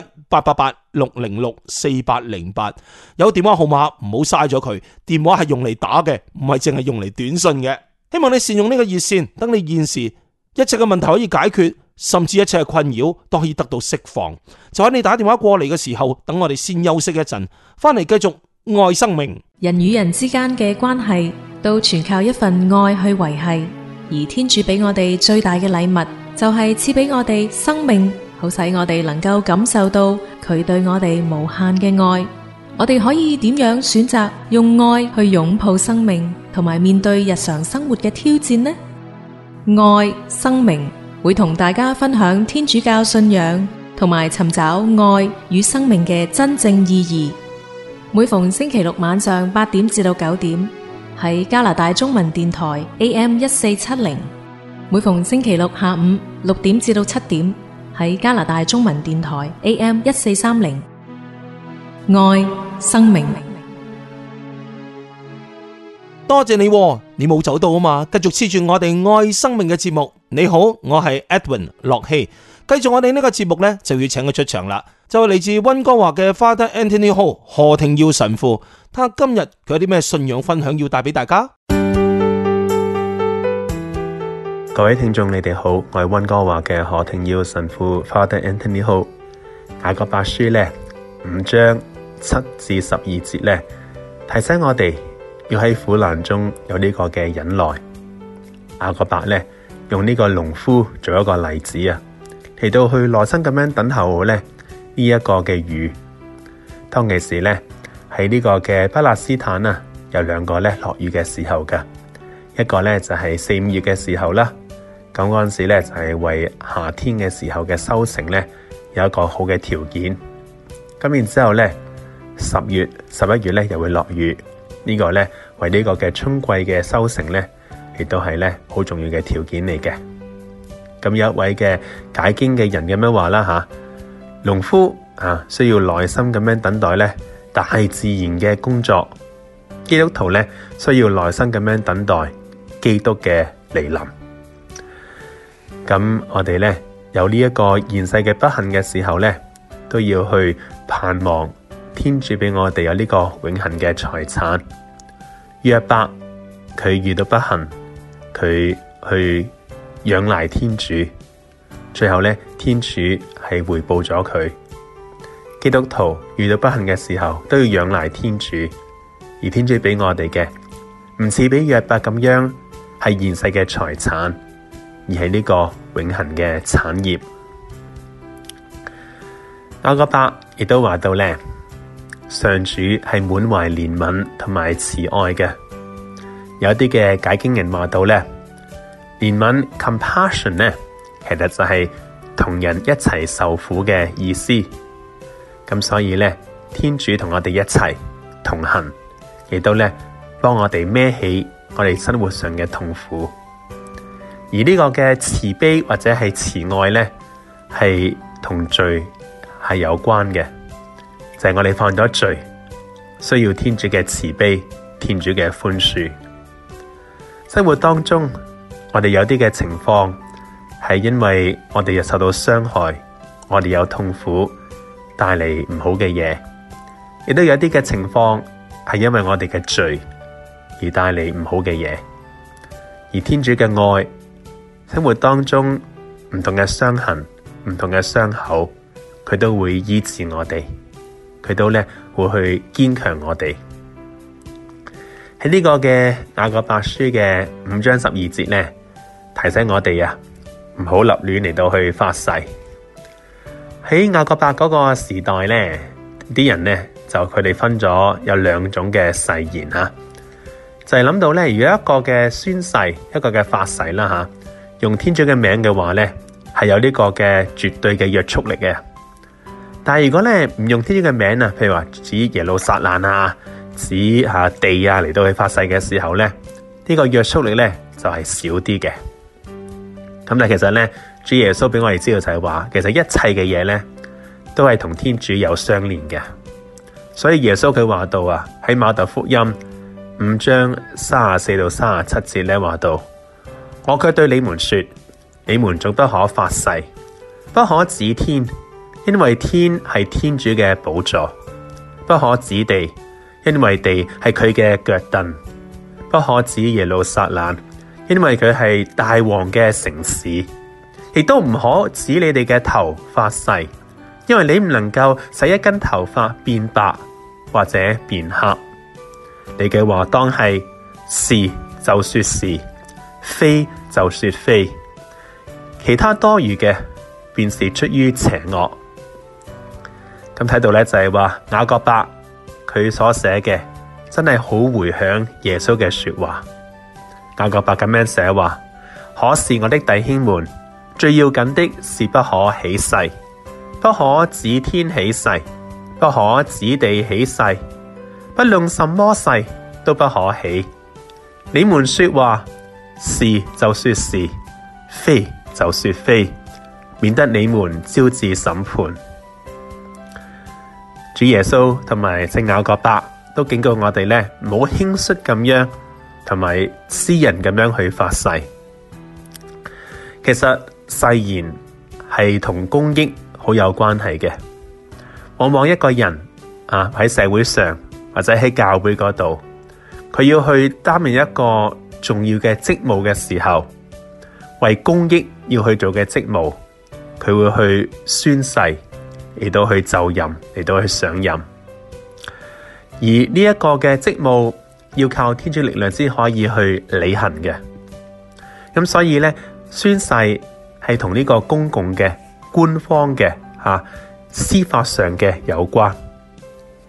1888-606-4808，有電話號碼唔好嘥咗佢，電話係用嚟打嘅，唔係淨係用嚟短信嘅。希望你善用呢個熱線，等你現時一切嘅問題可以解決，甚至一切嘅困擾都可以得到釋放。就喺你打電話過嚟嘅時候，等我哋先休息一陣，翻嚟繼續愛生命。 人與人之間嘅關係都全靠一份愛去維繫，而天主俾我哋最大嘅禮物就係賜俾我哋生命，好使我哋能夠感受到佢對我哋無限嘅愛。我哋可以點樣選擇用愛去擁抱生命，同埋面對日常生活嘅挑戰呢？愛生命會同大家分享天主教信仰，同埋尋找愛與生命嘅真正意義。每逢星期六晚上8點至到9點，喺加拿大中文電台 AM1470；每逢星期六下午6點至到7點，喺加拿大中文電台 AM1430。愛生命， 多謝你，你冇走到啊嘛，繼續黐住我哋愛生命嘅節目。你好，我係 Edwin 駱曦，繼續我哋呢個節目呢，就要請佢出場啦，就係嚟自溫哥華嘅 Father Anthony Ho 何廷耀神父，睇下今日佢有啲咩信仰分享要帶俾大家。 各位聽眾你哋好，我係溫哥華嘅何廷耀神父 Father Anthony Ho。雅各伯書呢5章7至12節呢，提醒我哋要喺苦難中有呢個嘅忍耐。雅各伯呢用呢個農夫做一個例子啊，嚟到去耐心咁樣等候呢一個嘅雨。當其時呢， 喺呢個嘅巴勒斯坦啊，有兩個咧落雨嘅時候噶，一個咧就係4、5月嘅時候啦。咁嗰陣時咧就係為夏天嘅時候嘅收成咧有一個好嘅條件。咁然之後咧10月、11月咧又會落雨，呢個咧為呢個嘅春季嘅收成咧亦都係咧好重要嘅條件嚟嘅。咁有一位嘅解經嘅人咁樣話啦吓，農夫啊需要耐心咁樣等待咧大自然嘅工作，基督徒咧需要耐心咁樣等待基督嘅來臨。咁我哋咧有呢一個現世嘅不幸嘅時候咧，都要去盼望天主俾我哋有呢個永恆嘅財產。約伯佢遇到不幸，佢去仰賴天主，最後咧天主係回報咗佢。基督徒遇到不幸嘅時候都要仰賴天主，而天主俾我哋嘅唔似俾約伯咁樣係現世嘅財產，而係呢個永恆嘅產業。雅各伯亦都話到咧，上主係滿懷憐憫同埋慈愛嘅。有啲嘅解經人話到咧，憐憫 compassion 咧，其實就係同人一齊受苦嘅意思。咁所以咧，天主同我哋一齊同行，亦都咧幫我哋孭起我哋生活上嘅痛苦。而呢個嘅慈悲或者係慈愛咧，係同罪係有關嘅，就係我哋犯咗罪，需要天主嘅慈悲，天主嘅寬恕。生活當中，我哋有啲嘅情況係因為我哋又受到傷害，我哋有痛苦，帶嚟唔好嘅嘢，亦都有啲嘅情況係因為我哋嘅罪而帶嚟唔好嘅嘢。而天主嘅愛，生活當中唔同嘅傷痕、唔同嘅傷口，佢都會醫治我哋，佢都咧會去堅強我哋。喺呢個嘅雅各伯書嘅5章12節咧，提醒我哋啊，唔好立亂嚟到去發誓。喺雅各伯嗰個時代咧，啲人咧就佢哋分咗有2種嘅誓言吓，就係諗到咧，如果一個嘅宣誓，一個嘅發誓啦吓，用天主嘅名嘅話咧，係有呢個嘅絕對嘅約束力嘅。但係如果咧唔用天主嘅名啊，譬如話指耶路撒冷啊，指下地啊嚟到去發誓嘅時候咧，呢個約束力咧就係少啲嘅。咁但係其實咧，主耶穌俾我哋知道就係話，其實一切嘅嘢咧都係同天主有相連嘅。所以耶穌佢話到啊，喺馬竇福音5章34到37節咧話到，我卻對你們說，你們總不可發誓，不可指天，因為天係天主嘅寶座；不可指地，因為地係佢嘅腳凳；不可指耶路撒冷，因為佢係大王嘅城市；亦都唔可指你哋嘅頭發誓，因為你唔能夠使一根頭髮變白或者變黑。你嘅話當係是就說是，非就說非，其他多餘嘅便是出於邪惡。咁睇到咧就係話雅各伯佢所寫嘅真係好回響耶穌嘅說話。雅各伯咁樣寫話，可是我的弟兄們，最要緊的是不可起誓，不可指天起誓，不可指地起誓，不論什麼誓都不可起。你們說話是就說是，非就說非，免得你們招致審判。主耶穌同埋聖雅各伯都警告我哋咧，唔好輕率咁樣同埋私人咁樣去發誓。其實誓言係同公益好有關係嘅。往往一個人啊喺社會上或者喺教會嗰度，佢要去擔任一個重要嘅職務嘅時候，為公益要去做嘅職務，佢會去宣誓嚟到去就任，嚟到去上任。而呢一個嘅職務要靠天主力量先可以去履行嘅。咁所以咧，宣誓係同呢個公共嘅官方嘅司法上嘅有關。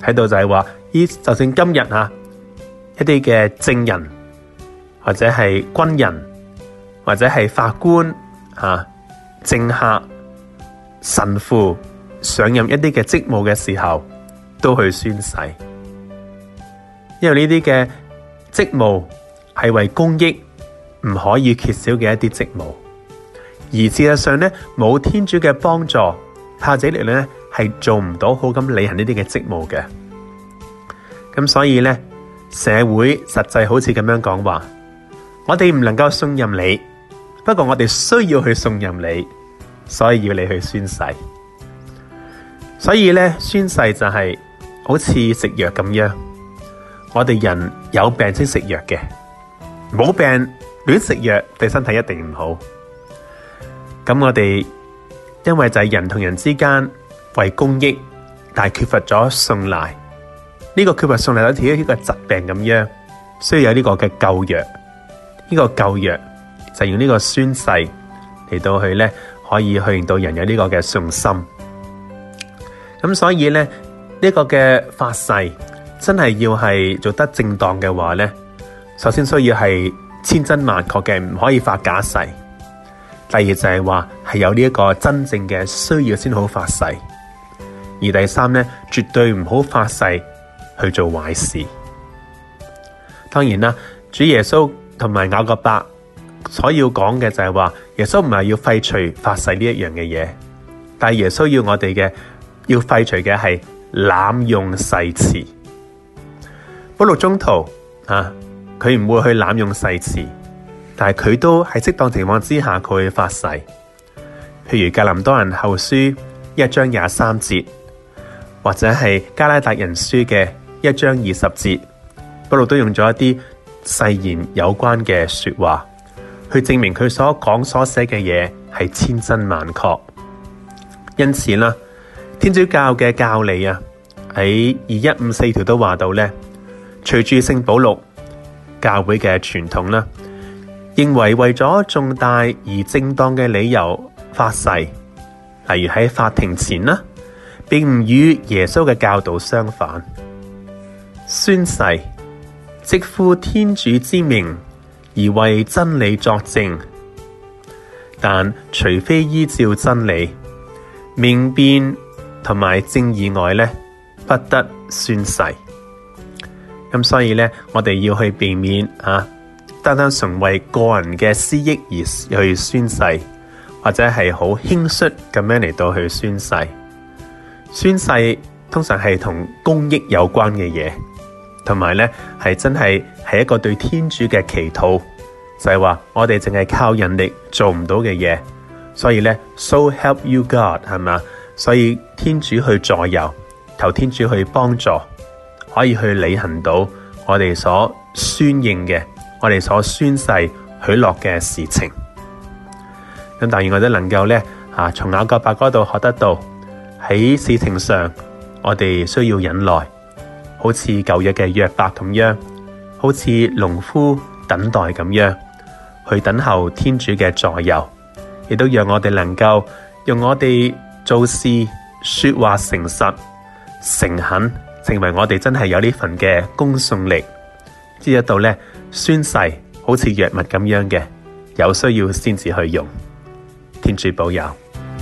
睇到就係話，就算今日一啲嘅證人或者係軍人或者係法官政客、神父上任一啲嘅職務嘅時候，都去宣誓，因為呢啲嘅職務係為公益唔可以缺少嘅一啲職務，而事實上呢，冇天主嘅幫助，靠自己力量呢係做唔到好咁履行呢啲嘅職務嘅。咁所以呢，社會實際好似咁樣講話，我哋唔能夠信任你，不過我哋需要去信任你，所以要你去宣誓。所以呢，宣誓就係好似食藥咁樣，我哋人有病先食藥嘅，冇病亂食藥對身體一定唔好。咁我哋因為就係人同人之間為公益，但係缺乏咗信賴，呢個缺乏信賴好似一個疾病咁樣，需要有呢個嘅救藥。呢個救藥就用呢個宣誓嚟到去呢，可以去令到人有呢個嘅信心。咁所以呢，呢個嘅發誓真係要係做得正當嘅話呢，首先需要係千真萬確嘅，唔可以發假誓。第二就係話係有呢一個真正嘅需要先好發誓。而第三呢，絕對唔好發誓去做壞事。當然啦，主耶穌同埋雅各伯所要講嘅就係話，耶穌唔係要廢除發誓呢一樣嘅嘢，但係耶穌要我哋嘅要廢除嘅係濫用誓詞。保祿宗徒佢唔會去濫用誓詞，但係佢都喺適當情況之下佢會發誓。譬如格林多人後書1章23節，或者係加拉達人書嘅1章20節，保祿都用咗一啲誓言有關嘅說話，去證明佢所講所寫嘅嘢係千真萬確。因此啦，天主教嘅教理喺2154條都話到呢，隨住聖保祿教會嘅傳統啦，認為為咗重大而正當嘅理由發誓，例如喺法庭前啦，並唔與耶穌嘅教導相反。宣誓即呼天主之名而為真理作證，但除非依照真理、明辨同埋正義外呢，不得宣誓。咁所以呢，我哋要去避免單單純為個人嘅私益而去宣誓，或者係好輕率咁樣嚟到去宣誓。宣誓通常係同公益有關嘅嘢，同埋呢係真係一個對天主嘅祈禱，就係話我哋淨係靠人力做唔到嘅嘢，所以呢 So help you God 係嘛？所以天主去助佑，求天主去幫助，可以去履行到我哋所宣認嘅，我哋所宣誓許諾嘅事情。咁當然我哋能夠呢從雅各伯嗰度學得到，喺事情上我哋需要忍耐，好似舊約嘅約伯咁樣，好似農夫等待咁樣，去等候天主嘅助佑，亦都讓我哋能夠用我哋做事說話誠實誠懇，成為我哋真係有呢份嘅公信力，知得到呢宣誓好似藥物咁樣嘅，有需要先至去用。天主保佑。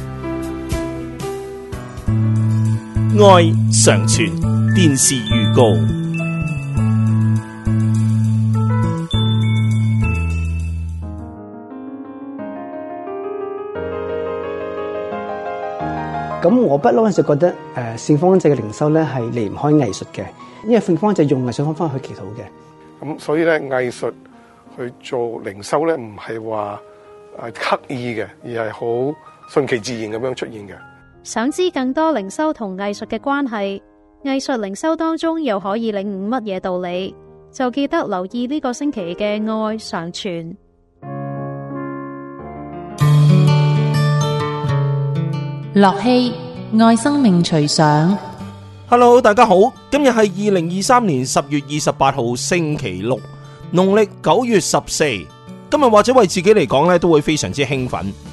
愛常傳電視預告。 咁我不嬲就覺得聖方濟嘅靈修咧係離唔開藝術嘅，因為聖方濟用藝術方法去祈禱嘅。 咁所以咧藝術去做靈修咧唔係話刻意嘅，而係好順其自然咁樣出現嘅。 想知更多靈修同藝術嘅關係，藝術靈修當中又可以領悟乜嘢道理，就記得留意呢個星期嘅愛常傳。 樂器愛生命隨想。 Hello， 大家好，今日係2023年10月28號星期六，農曆9月14。今日或者為自己嚟講咧，都會非常之興奮，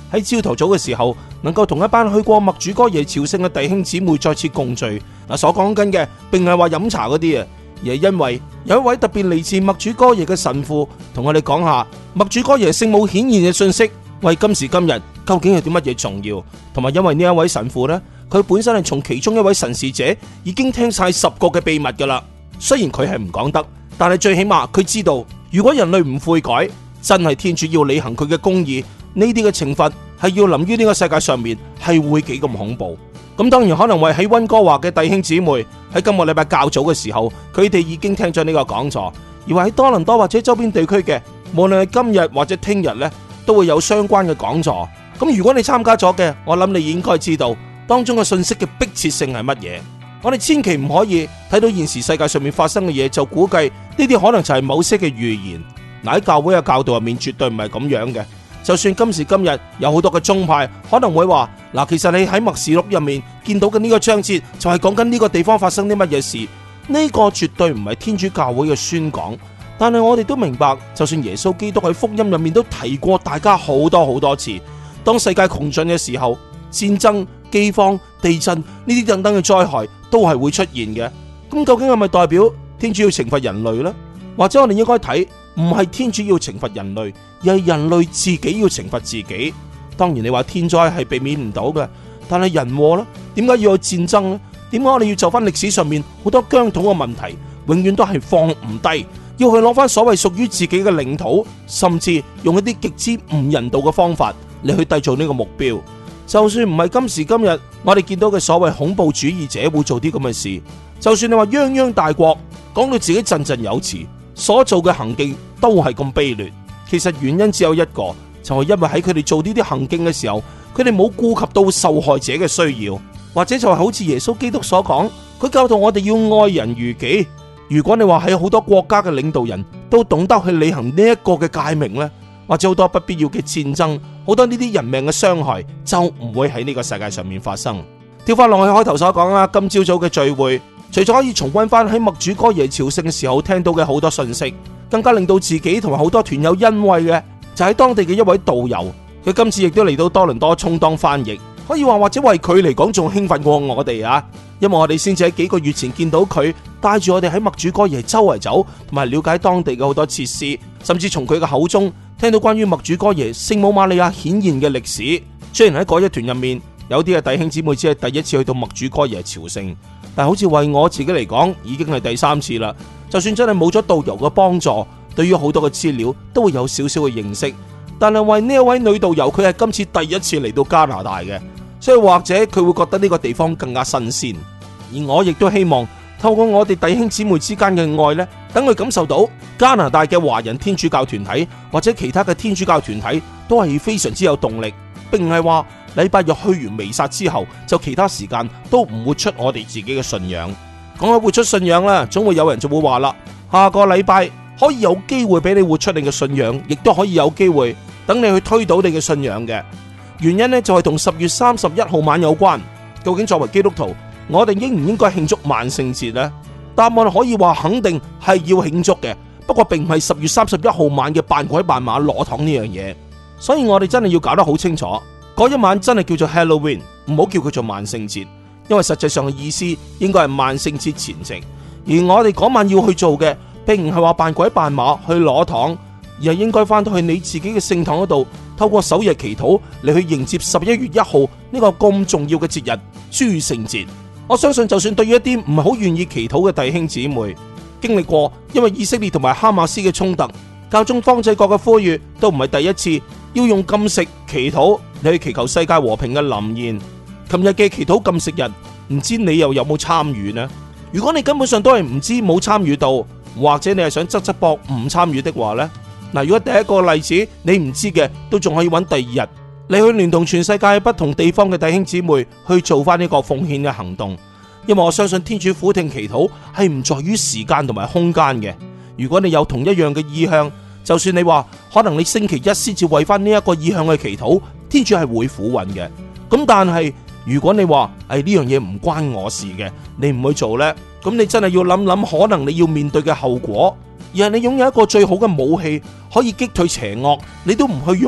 喺朝頭早嘅時候，能夠同一班去過默主哥耶朝聖嘅弟兄姊妹再次共聚。所講緊嘅並唔係話飲茶嗰啲啊，而係因為有一位特別嚟自默主哥耶嘅神父同我哋講下默主哥耶聖母顯現嘅信息，為今時今日究竟有啲乜嘢重要，同埋因為呢一位神父呢，佢本身係從其中一位神視者已經聽晒10個嘅秘密噶啦。雖然佢係唔講得，但係最起碼佢知道，如果人類唔悔改，真係天主要履行佢嘅公義，呢啲嘅懲罰係要臨於呢個世界上面，係會幾咁恐怖。咁當然可能為喺溫哥華嘅弟兄姊妹喺今個禮拜較早嘅時候，佢哋已經聽咗呢個講座，而話喺多倫多或者周邊地區嘅，無論係今日或者聽日呢，都會有相關嘅講座。咁如果你參加咗嘅，我諗你應該知道當中嘅信息嘅迫切性係乜嘢。我哋千祈唔可以睇到現時世界上面發生嘅嘢就估計呢啲可能就係某些嘅預言。喺教會嘅教導入面絕對唔係咁樣嘅。就算今時今日有好多嘅宗派可能會話，其實你喺默示錄入面見到嘅呢個章節就係講緊呢個地方發生啲乜嘢事，呢個絕對唔係天主教會嘅宣講。但係我哋都明白，就算耶穌基督喺福音入面都提過大家好多次，當世界窮盡嘅時候，戰爭、饑荒、地震呢啲等等嘅災害都係會出現嘅。咁究竟係咪代表天主要懲罰人類呢？或者我哋應該睇，唔係天主要懲罰人類，而係人類自己要懲罰自己。當然你話天災係避免唔到嘅，但係人禍呢？點解要有戰爭呢？點解我哋要就翻歷史上面好多疆土嘅問題，永遠都係放唔低，要去攞翻所謂屬於自己嘅領土，甚至用一啲極之唔人道嘅方法嚟去締造呢個目標。就算唔係今時今日我哋見到嘅所謂恐怖主義者會做啲咁嘅事，就算你話泱泱大國講到自己振振有詞，所做嘅行徑都係咁卑劣。其實原因只有一個，就係因為喺佢哋做呢啲行徑嘅時候，佢哋冇顧及到受害者嘅需要，或者就係好似耶穌基督所講，佢教導我哋要愛人如己。如果你話喺好多國家嘅領導人都懂得去履行呢一個嘅誡命呢，或者好多不必要嘅戰爭，好多呢啲人命嘅傷害就唔會喺呢個世界上面發生。跳翻落去開頭所講啦，今朝早嘅聚會，除咗可以重溫翻喺默主哥耶朝聖嘅時候聽到嘅好多信息，更加令到自己同埋好多團友欣慰嘅，就喺當地嘅一位導遊，佢今次亦都嚟到多倫多充當翻譯，可以話或者為佢嚟講仲興奮過我哋啊！因為我哋先至喺幾個月前見到佢帶住我哋喺默主哥耶周圍走，同埋了解當地嘅好多設施，甚至從佢嘅口中聽到關於默主哥耶聖母瑪利亞顯現嘅歷史。雖然喺嗰一團入面有啲嘅弟兄姊妹只係第一次去到默主哥耶朝聖，但好似為我自己嚟講已經係第3次啦。就算真係冇咗導遊嘅幫助，對於好多嘅資料都會有少少嘅認識。但係為呢一位女導遊，佢係今次第一次嚟到加拿大嘅，所以或者佢會覺得呢個地方更加新鮮。而我亦都希望透過我哋弟兄姊妹之間嘅愛呢，等佢感受到加拿大嘅華人天主教團體或者其他嘅天主教團體都係非常之有動力，並唔係話禮拜日去完彌撒之後就其他時間都唔活出我哋自己嘅信仰。講起活出信仰啦，總會有人就會話啦，下個禮拜可以有機會俾你活出你嘅信仰，亦都可以有機會等你去推倒你嘅信仰嘅。原因呢，就係同10月31號晚有關。究竟作為基督徒，我哋應唔應該慶祝萬聖節呢？答案可以話肯定係要慶祝嘅，不過並唔係10月31號晚嘅扮鬼扮馬攞糖呢樣嘢。所以我哋真係要搞得好清楚，嗰一晚真係叫做 Halloween， 唔好叫佢做萬聖節，因為實際上嘅意思應該係萬聖節前夕。而我哋嗰晚要去做嘅，並唔係話扮鬼扮馬去攞糖，而係應該翻到去你自己嘅聖堂嗰度，透過守夜祈禱嚟去迎接11月1號呢個咁重要嘅節日諸聖節。我相信就算對於一啲唔係好願意祈禱嘅弟兄姊妹，經歷過因為以色列同埋哈馬斯嘅衝突，教宗方濟各嘅呼籲都唔係第一次要用禁食祈禱嚟去祈求世界和平嘅臨現。琴日嘅祈禱禁食日，唔知你又有冇參與呢？如果你根本上都係唔知冇參與到，或者你係想側側膊唔參與的話呢，嗱，如果第一個例子你唔知嘅，都仲可以揾第二日，你去聯同全世界不同地方嘅弟兄姊妹去做翻呢個奉獻嘅行動。因為我相信天主俯聽祈禱係唔在於時間同埋空間嘅。如果你有同一樣嘅意向，就算你話可能你星期一先至為翻呢一個意向去祈禱，天主係會俯允嘅。咁但係如果你話呢樣嘢唔關我事嘅，你唔去做呢，咁你真係要諗諗可能你要面對嘅後果。而係你擁有一個最好嘅武器可以擊退邪惡，你都唔去用，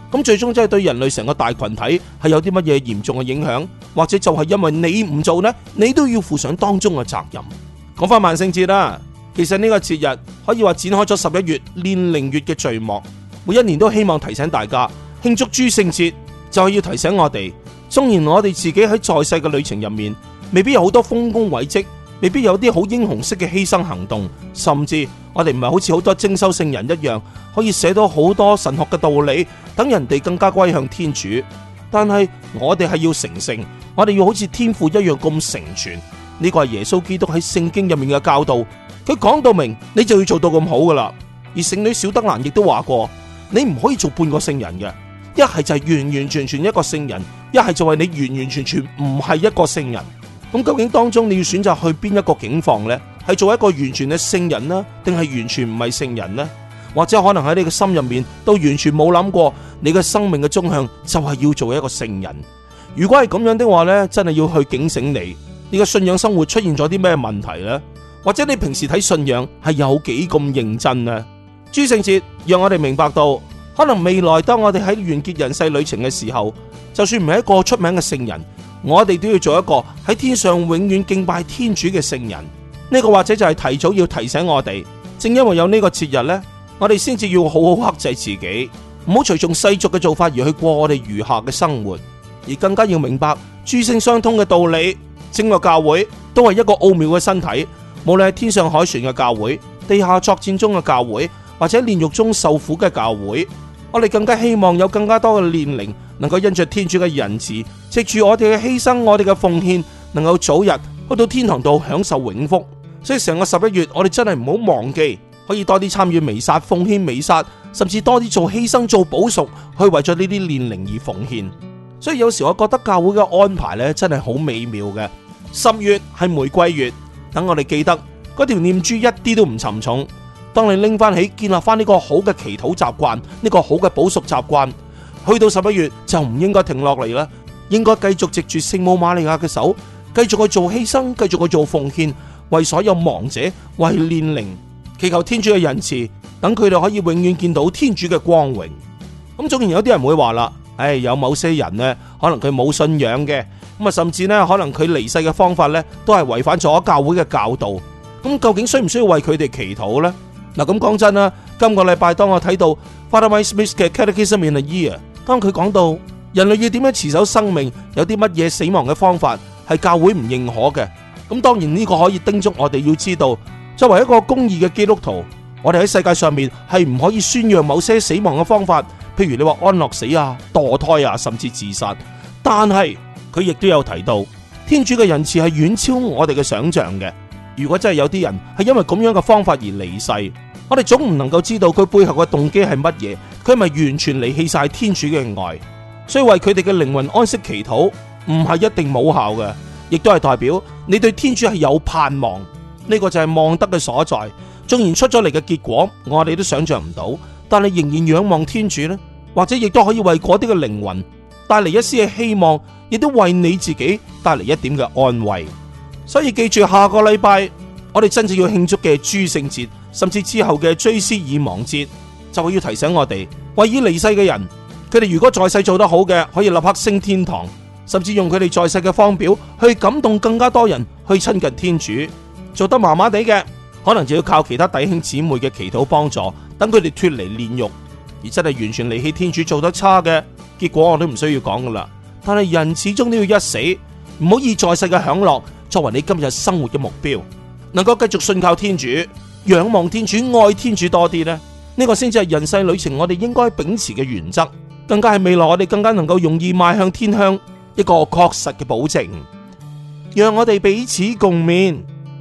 咁最終真係對人類成個大群體係有啲乜嘢嚴重嘅影響，或者就係因為你唔做呢，你都要負上當中嘅責任。講翻萬聖節啦，其實呢個節日可以話展開咗11月煉靈月嘅序幕，每一年都希望提醒大家慶祝諸聖節，就係要提醒我哋，縱然我哋自己喺在世嘅旅程入面，未必有好多豐功偉績，未必有啲好英雄式嘅犧牲行動，甚至我哋唔係好似好多精修聖人一樣，可以寫到好多神學嘅道理，等人哋更加歸向天主。但係我哋係要成聖，我哋要好似天父一樣咁成全。呢個係耶穌基督喺聖經入面嘅教導，佢講到明，你就要做到咁好噶啦。而聖女小德蘭亦都話過，你唔可以做半個聖人嘅，一係就係完完全全一個聖人，一係就係你完完全全唔係一個聖人。咁究竟當中你要選擇去邊一個境況呢？係做一個完全嘅聖人呢，定係完全唔係聖人呢？或者可能喺你嘅心入面都完全冇諗過，你嘅生命嘅終向就係要做一個聖人。如果係咁樣的話呢，真係要去警醒你嘅信仰生活出現咗啲咩問題呢？或者你平時睇信仰係有幾咁認真呢？諸聖節讓我哋明白到，可能未來當我哋喺完結人世旅程嘅時候，就算唔係一個出名嘅聖人，我哋都要做一個喺天上永遠敬拜天主嘅聖人。呢個或者就係提早要提醒我哋，正因為有呢個節日呢，我哋先至要好好克制自己，唔好隨從世俗嘅做法而去過我哋餘下嘅生活，而更加要明白諸聖相通嘅道理。整個教會都係一個奧妙嘅身體，無論係天上凱旋嘅教會、地下作戰中嘅教會，或者煉獄中受苦嘅教會，我哋更加希望有更加多嘅煉靈能夠因着天主嘅仁慈，藉住我哋嘅犧牲、我哋嘅奉獻，能夠早日去到天堂度享受永福。所以成個11月，我哋真係唔好忘記，可以多啲參與彌撒、奉獻彌撒，甚至多啲做犧牲、做補贖，去為咗呢啲煉靈而奉獻。所以有時我覺得教會嘅安排咧，真係好美妙嘅。10月係玫瑰月，等我哋記得嗰條念珠一啲都唔沉重。當你拎翻起建立翻呢個好嘅祈禱習慣，呢個好嘅補贖習慣，去到11月就唔應該停落嚟啦，應該繼續藉住聖母瑪利亞嘅手，繼續去做犧牲，繼續去做奉獻，為所有亡者，為煉靈，祈求天主嘅仁慈，等佢哋可以永遠見到天主嘅光榮。咁縱然有啲人會話啦，有某些人呢，可能佢冇信仰嘅，咁甚至呢，可能佢離世嘅方法呢，都係違反咗教會嘅教導。咁究竟需唔需要為佢哋祈禱呢？嗱，咁講真啦，今個禮拜當我睇到 Father Mike Smith 嘅 Catechism in a Year， 當佢講到人類要點樣持守生命，有啲乜嘢死亡嘅方法係教會唔認可嘅。咁當然呢個可以叮囑我哋要知道，作為一個公義嘅基督徒，我哋喺世界上面係唔可以宣揚某些死亡嘅方法，譬如你話安樂死啊、墮胎啊，甚至自殺。但係佢亦都有提到，天主嘅仁慈係遠超我哋嘅想象嘅。如果真係有啲人係因為咁樣嘅方法而離世，我哋總唔能夠知道佢背後嘅動機係乜嘢，佢係咪完全離棄晒天主嘅愛？所以為佢哋嘅靈魂安息祈禱唔係一定冇效嘅，亦都係代表你對天主係有盼望。呢個就係望德嘅所在。縱然出咗嚟嘅結果我哋都想象唔到，但係仍然仰望天主呢，或者亦都可以為嗰啲嘅靈魂帶嚟一絲嘅希望，亦都為你自己帶嚟一點嘅安慰。所以記住，下個禮拜我哋真正要慶祝嘅諸聖節，甚至之後嘅追思已亡節，就會要提醒我哋，為已離世嘅人，佢哋如果在世做得好嘅，可以立刻升天堂，甚至用佢哋在世嘅方表去感動更加多人去親近天主。做得麻麻地嘅，可能就要靠其他弟兄姊妹嘅祈禱幫助，等佢哋脫離煉獄。而真係完全離棄天主做得差嘅，結果我都唔需要講噶啦。但係人始終都要一死，唔好以在世嘅享樂作為你今日生活嘅目標，能夠繼續信靠天主、仰望天主、愛天主多啲呢，呢個先至係人世旅程我哋應該秉持嘅原則，更加係未來我哋更加能夠容易邁向天鄉一個確實嘅保證。讓我哋彼此共勉。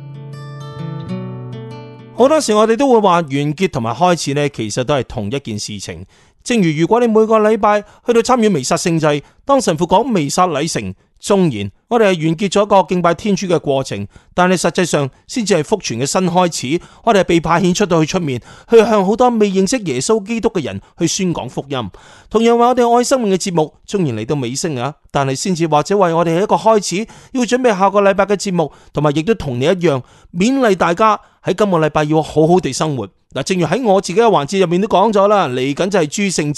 好多時我哋都會話完結同埋開始呢，其實都係同一件事情。正如果你每個禮拜去到參與彌撒聖祭，當神父講彌撒禮成，縱然我哋係完結咗一個敬拜天主嘅過程，但係實際上先至係福傳嘅新開始。我哋係被派遣出到去出面，去向好多未認識耶穌基督嘅人去宣講福音。同樣為我哋愛生命嘅節目，縱然嚟到尾聲啊，但係先至或者為我哋係一個開始，要準備下個禮拜嘅節目，同埋亦都同你一樣勉勵大家喺今個禮拜要好好地生活。嗱，正如喺我自己嘅環節入面都講咗啦，嚟緊就係諸聖節，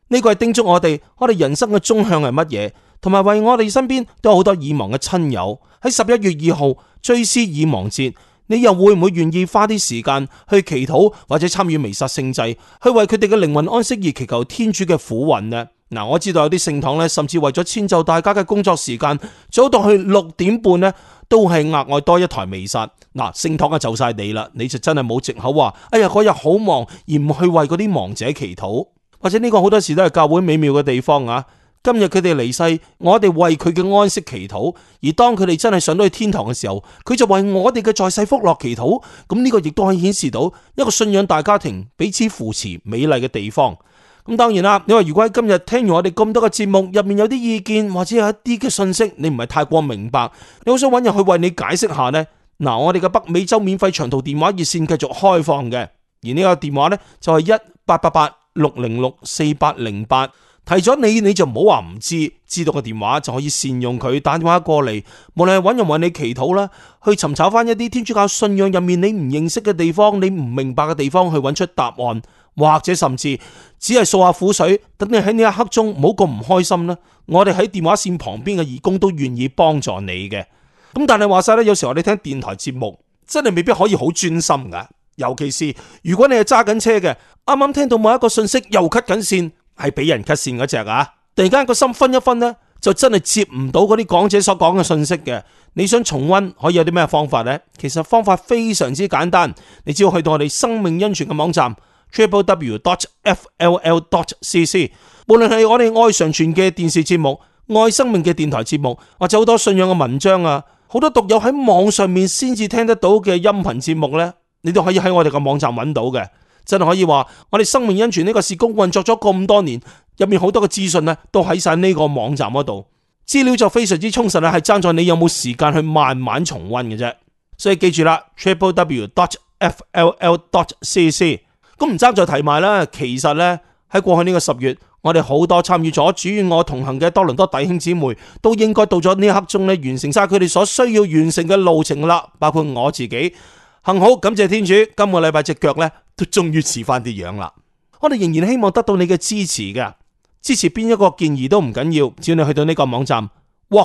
呢個係叮囑我哋人生嘅終向係乜嘢，同埋為我哋身邊都有好多已亡嘅親友。喺11月2號追思已亡節，你又會唔會願意花啲時間去祈禱或者參與彌撒聖祭，去為佢哋嘅靈魂安息而祈求天主嘅苦運呢？嗱，我知道有啲聖堂呢，甚至為咗遷就大家嘅工作時間，早到去6點半呢，都係額外多一台彌撒。嗱，聖堂啊就晒你啦，你就真係冇藉口話，哎呀嗰日好忙而唔去為嗰啲亡者祈禱。或者呢個好多時都係教會美妙嘅地方啊！今日佢哋離世，我哋為佢嘅安息祈禱；而當佢哋真係上到去天堂嘅時候，佢就為我哋嘅在世福樂祈禱。咁呢個亦都可以顯示到一個信仰大家庭彼此扶持美麗嘅地方。咁當然啦，你話如果喺今日聽完我哋咁多嘅節目入面有啲意見或者有一啲嘅信息，你唔係太過明白，你好想揾人去為你解釋下呢？嗱，我哋嘅北美洲免費長途電話熱線繼續開放嘅，而呢個電話呢，就係1888-606-4808，提咗你就唔好話唔知，知道個電話就可以善用佢，打電話過嚟，無論係揾人為你祈禱啦，去尋找翻一啲天主教信仰入面你唔認識嘅地方，你唔明白嘅地方，去揾出答案，或者甚至只係掃下苦水，等你喺呢一刻中唔好咁唔開心啦。我哋喺電話線旁邊嘅義工都願意幫助你嘅。咁但係話晒咧，有時候你聽電台節目真係未必可以好專心噶。尤其是如果你係揸緊車嘅，啱啱聽到某一個信息又 cut 緊線，係俾人 cut 線嗰隻啊！突然間個心分一分呢，就真係接唔到嗰啲講者所講嘅信息嘅。你想重溫可以有啲咩方法呢？其實方法非常之簡單，你只要去到我哋生命恩泉嘅網站 www.fll.cc， 無論係我哋愛常傳嘅電視節目、愛生命嘅電台節目，或者好多信仰嘅文章啊，好多讀友喺網上面先至聽得到嘅音頻節目呢，你都可以喺我哋嘅網站揾到嘅。真係可以話，我哋生命恩泉呢個事工運作咗咁多年，入面好多嘅資訊呢都喺晒呢個網站嗰度，資料就非常之充實啦，係爭在你有冇時間去慢慢重溫嘅啫。所以記住啦 www.fll.cc。 咁唔爭再提埋啦，其實呢，喺過去呢個10月，我哋好多參與咗主與我同行嘅多倫多弟兄姊妹，都應該到咗呢一刻鐘呢，完成晒佢哋所需要完成嘅路程啦，包括我自己。幸好感謝天主，今個禮拜隻腳呢都終於似翻啲樣啦。我哋仍然希望得到你嘅支持嘅，支持邊一個建議都唔緊要，只要你去到呢個網站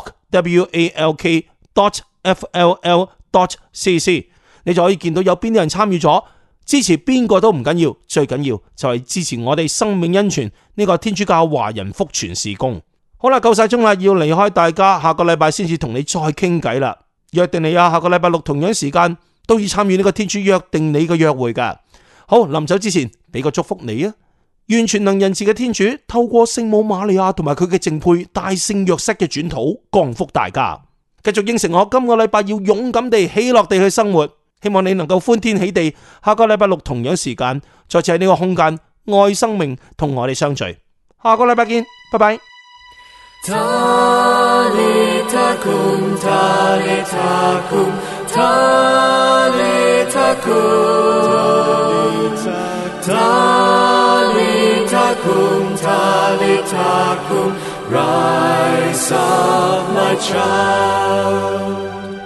walk.walk.fll.cc， 你就可以見到有邊啲人參與咗。支持邊個都唔緊要，最緊要就係支持我哋生命恩泉呢個天主教華人福傳事工。好啦，夠晒鐘啦，要離開大家，下個禮拜先至同你再傾偈啦。約定你啊，下個禮拜六同樣時間都要參與呢個天主約定你嘅約會噶。好，臨走之前俾個祝福你啊！願全能仁慈嘅天主透過聖母瑪利亞同埋佢嘅淨配大聖若瑟嘅轉禱降福大家。繼續應承我，今個禮拜要勇敢地喜樂地去生活。希望你能夠歡天喜地，下個禮拜六同樣時間再次喺呢個空間愛生命同我哋相聚。下個禮拜見，拜拜。Rise up, my child.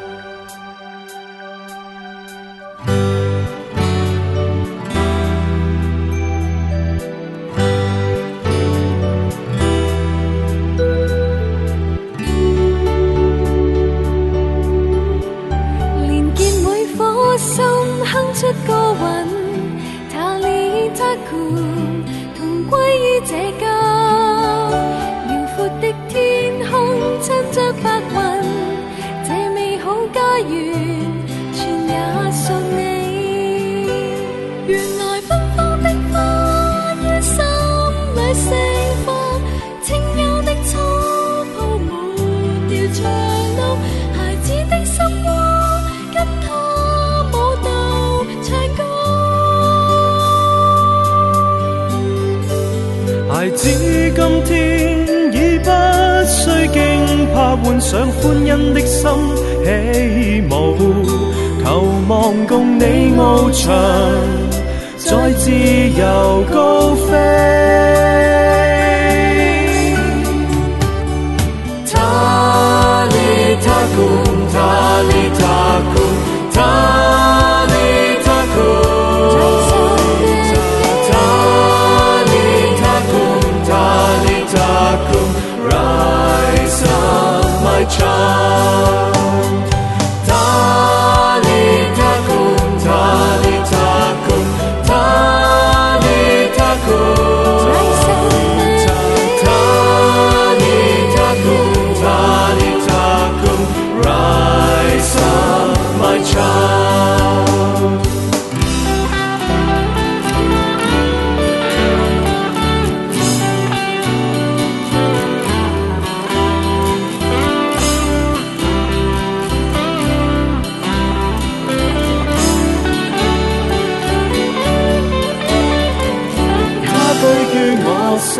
出歌韻，他哩他酷，同歸於這家。遼闊的天空，襯着白雲，這美好家園，全也屬你。原來芬芳的花於心裏盛放，清幽的初泡抹掉長路，孩子的心窩跟他。孩子今天已不需驚怕，換上歡欣的心起舞，求望共你翱翔，在自由高飛。他哩他酷，他哩他酷，他哩他酷。他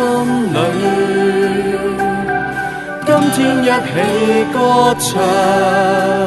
心裏。今天一起歌唱，